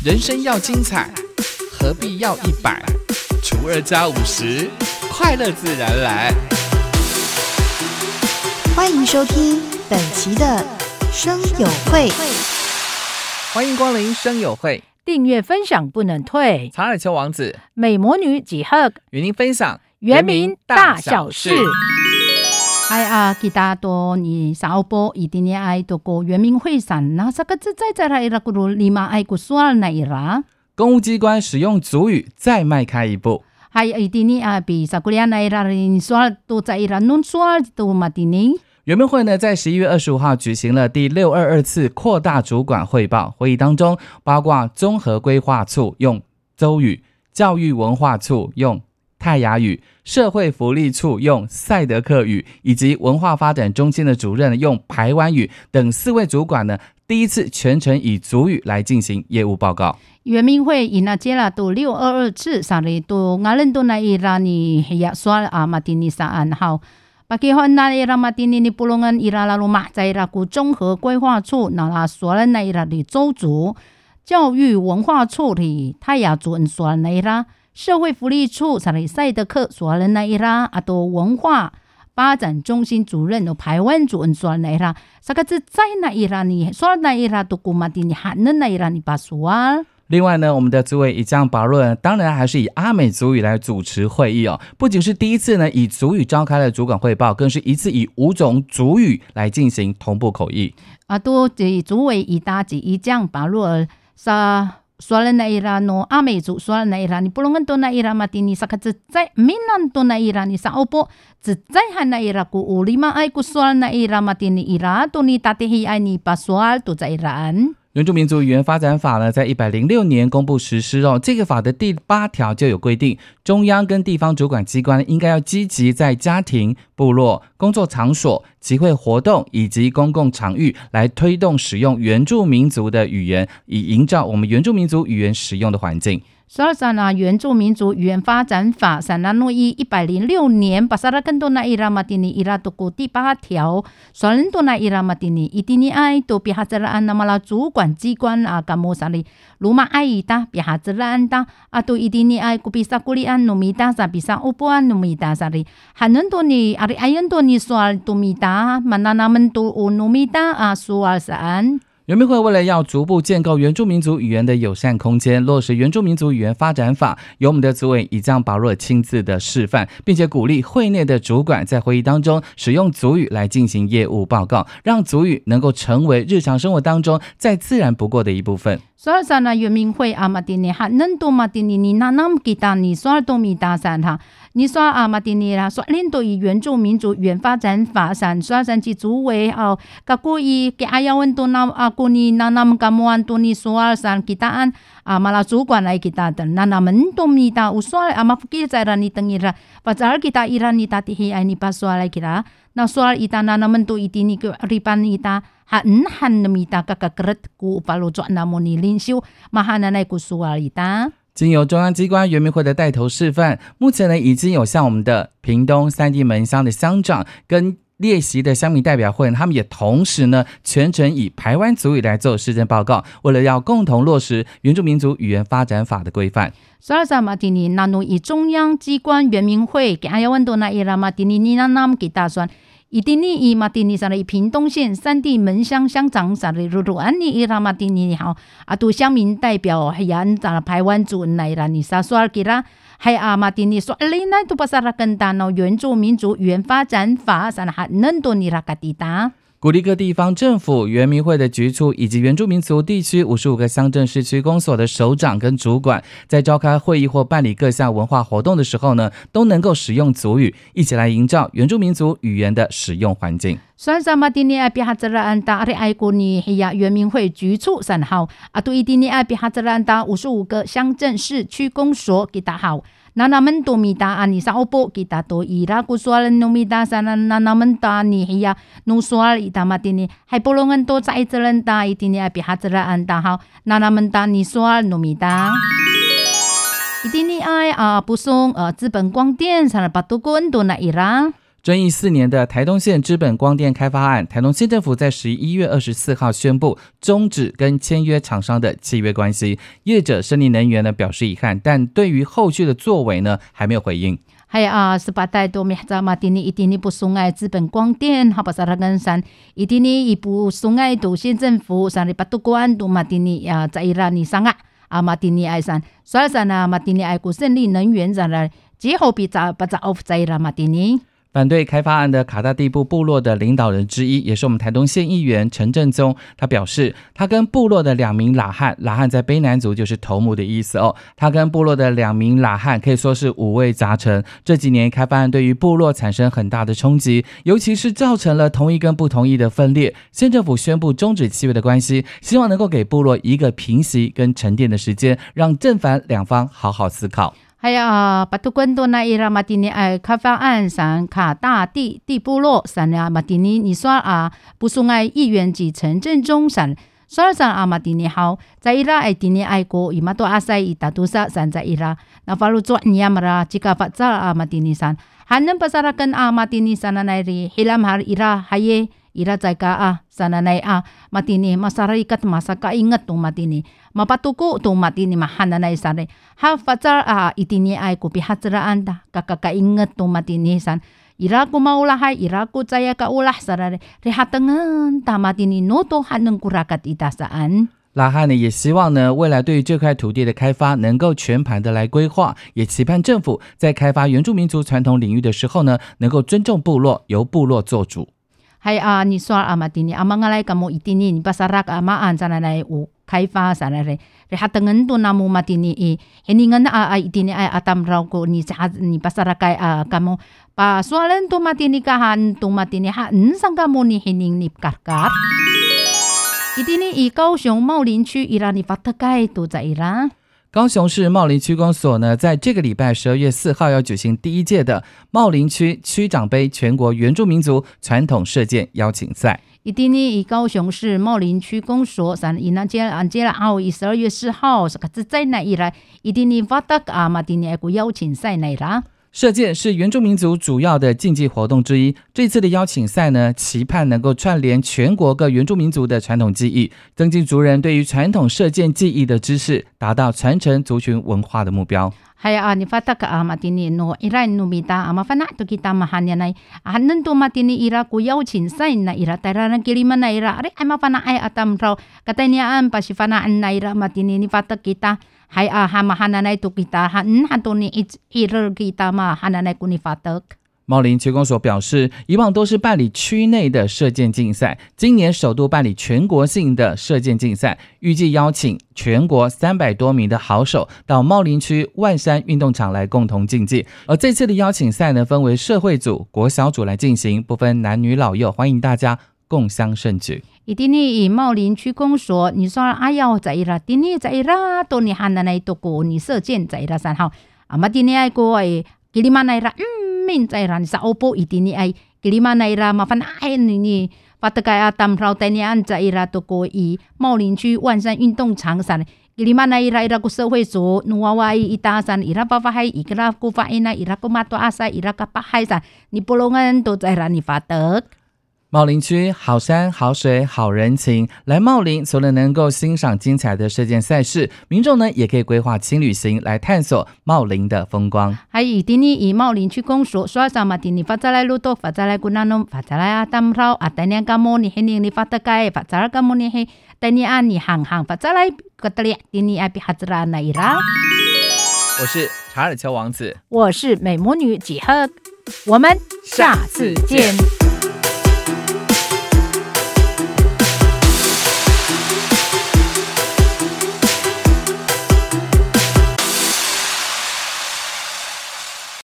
人生要精彩，何必要100？除2加50，快乐自然来。 欢迎收听本期的声友会， 欢迎光临声友会， 订阅分享不能退。 查尔丘王子、 美魔女几何与您分享原民大小事。哎啊，吉达多你少波一定要爱多过原民会上，那这个自在来了，咕噜立马爱古苏尔那一啦。 公务机关使用族语再迈开一步。 还一定要比萨古利亚那一啦，你说都在一啦，弄说都马蒂尼。 原民会呢，在11月25号举行了第622次扩大主管汇报会议当中，包括综合规划处用邹语，教育文化处用泰雅语，社会福利处用赛德克语，以及文化发展中心的主任用排湾语等4位主管呢，第一次全程以族语来进行业务报告。 原民会以那接了都622次上来都我们都那伊拉你也说啊马蒂尼萨安好。Bagaimana daerah mati ini pulungan ira lalu mahcaira ku 综合规划处那啦说了那ira的州族教育文化处的泰雅族人说了那ira社会福利处萨里赛德克说了那ira啊都文化发展中心主任的排湾族人说了那ira这个是在那ira你说那ira都古mati你喊那ira你把说。 另外呢，我们的族委以将保论当然还是以阿美族语来主持会议哦。不仅是第一次呢以族语召开了主管汇报，更是一次以5种族语来进行同步口译。 啊，都这族委以大及以将保论sa soalan daerah no ame族soalan daerah ni pulungan to daerah mati ni sakat zai minan to daerah ni sa opo zai han daerah ku ulima ai ku soalan daerah mati ni ira to ni tatehi ai ni paswal to zairan。 原住民族语言发展法呢，在106年公布实施哦。这个法的第8条就有规定，中央跟地方主管机关应该要积极在家庭、部落、工作场所、集会活动以及公共场域来推动使用原住民族的语言，以营造我们原住民族语言使用的环境。 所以呢，原住民族语言发展法散那诺伊106年巴萨拉根多那伊拉马蒂尼伊拉多古第8条，所人多那伊拉马蒂尼一定爱多比哈泽拉安那么啦主管机关啊，干么啥哩？鲁马爱伊达比哈泽拉安达啊，都一定爱古比萨古里安努米达萨比萨乌波安努米达萨哩，汉人多尼阿里爱人多尼说努米达，曼那那们都乌努米达啊说啥安？ 原民会为了要逐步建构原住民族语言的友善空间，落实原住民族语言发展法，由我们的族委以将保若亲自的示范，并且鼓励会内的主管在会议当中使用族语来进行业务报告，让族语能够成为日常生活当中再自然不过的一部分。 所以呢，原民会啊，马蒂尼哈，能多马蒂尼你那么给他你说多米大山哈，你说啊马蒂尼啦，说领导以原住民族语言发展法上，说上去主委哦，个故意给阿要问多那啊，故意那么个么安多你说上给他按啊，马拉主管来给他的，那们多米大，我说啊马不给在那你等伊啦，把这儿给他伊拉你打的黑爱你把说来给他。那soal ita na naman to iti ni ripan ita han namita kakakret ku upalo jo na mo ni linsiu mahananay ku soal ita。 经由中央机关原民会的带头示范，目前呢已经有像我们的屏东3地门乡的乡长跟列席的乡民代表会，他们也同时呢全程以排湾族语来做施政报告，为了要共同落实原住民族语言发展法的规范。 所以马蒂尼那诺以中央机关原民会给阿要问多那伊拉马蒂尼你那nam给打算。一定你以马蒂尼上的屏东县3地门乡乡长上的如安尼伊拉马蒂尼好啊，都乡民代表还按在排湾族来啦，你啥说给啦？还啊马蒂尼说，你那都不是拉跟大脑原住民族语言发展法上还能多你拉个地达。 鼓励各地方政府、原民会的局处以及原住民族地区55个乡镇市区公所的首长跟主管，在召开会议或办理各项文化活动的时候呢，都能够使用族语，一起来营造原住民族语言的使用环境。 所以马蒂尼阿比哈泽拉安达阿里爱国尼黑亚原民会局处3号啊，对一定尼阿比哈泽拉安达55个乡镇市区公所给打好。那naman tumita ani sa opo kita to ira kusual numita sana na naman ta ni hiya nusual itamatini hay pulungan to sa itzalan ta itini api hatsaraan ta ha na naman ta ni sual numita itini ay pusong 资本光电sana patugon to na ira 争议4年的台东县知本光电开发案，台东县政府在11月24号宣布终止跟签约厂商的契约关系。业者胜利能源呢表示遗憾，但对于后续的作为呢还没有回应。 Hai sebatai do mihzama tini itini pu sungai 资本光电 hapasarangan san itini ipu sungai do 县政府 san ripatukuan do matini zaira ni sanga matini ai san soal sana matini ai ku 胜利能源 san 之后比早把早 zaira matini。 反对开发案的卡大地部部落的领导人之一，也是我们台东县议员陈正宗，他表示，他跟部落的2名拉汉在卑南族就是头目的意思哦。他跟部落的2名拉汉可以说是五味杂陈。这几年开发案对于部落产生很大的冲击，尤其是造成了同意跟不同意的分裂。县政府宣布终止契约的关系，希望能够给部落一个平息跟沉淀的时间，让正反两方好好思考。 还有patukuan do na ira matini ai 开发案 san 卡大地部落 san matini 你说不sungai 议员及陈正中 san soal san matini 好在 ira ai tini ai ko imato asai itatusa san在 ira na falu zo nyamra jika fatsal matini san hanan pasarakan matini sana nairi hilam har ira haye ira jaga sananay matini masarikat masaka ingat tu matini mapatuku tu matini mahananay sare ha fatsar itini ay ko pihatraan da kakakaingat tu matini san ira ko maulahay ira ko jaya ka ulah sarare rehatangan ta matini noto hanang kurakat itasaan。 拉汉呢也希望呢未来对于这块土地的开发能够全盘的来规划，也期盼政府在开发原住民族传统领域的时候呢能够尊重部落，由部落做主。 Hai ni soal matini mangalai kamu itini ni pasarak amaan sana nai开发sana re rehatangan tu namu matini heningan itini ay atam raw ko ni pasarakai kamu pa soalan tu matini kahan tu matini sang kamu ni hening ni karkar itini高雄茂林区 ira ni fatakai tu za ira。 高雄市茂林区公所呢，在这个礼拜12月4号要举行第1届的茂林区区长杯全国原住民族传统射箭邀请赛。 itini 高雄市茂林区公所 san inajela anjela 12月4号是个在那ira itini fatak matini aku 邀请赛那ira。 射箭是原住民族主要的竞技活动之一，这次的邀请赛呢，期盼能够串联全国各原住民族的传统技艺，增进族人对于传统射箭技艺的知识，达到传承族群文化的目标。 Hai ni fatak matini no ira no mita mafana to kita mahanya nai hanan to matini ira ku 邀请赛na ira tarana kilima na ira are ay mafana ay atam raw katanian pasifanaan na ira matini ni fatak kita hai hamahananay to kita hanto ni ira kita mahananay ku ni fatak。 茂林区公所表示，以往都是办理区内的射箭竞赛，今年首度办理全国性的射箭竞赛，预计邀请全国300多名的好手到茂林区万山运动场来共同竞技。而这次的邀请赛呢，分为社会组、国小组来进行，不分男女老幼，欢迎大家共襄盛举。 itini 茂林区公所你说ayaw za ira tini za ira to ni hananay to ko ni 射箭 za ira san hao matini ay ko ay kilima na ira min za ira sa opo itini ay kilima na ira mafanain ni patakay atam raw tanian za ira to ko 茂林区万山运动场 san kilima na ira ira ko 社会组 nuwawai itasan ira papahay ikra ko faina ira ko mato asa ira kapahay san ni pulungan to za ira ni fatak。 茂林区好山好水好人情，来茂林除了能够欣赏精彩的射箭赛事，民众呢也可以规划轻旅行来探索茂林的风光。 还itini 茂林区公所说sama tini fatalay lutok fatalay kunanom fatalay atam raw atanya kamu ni hining ni fatakay fatal kamu ni tanian ni hanghang fatalay katali tini api hatra na ira。 我是查尔丘王子， 我是美魔女几何，我们下次见。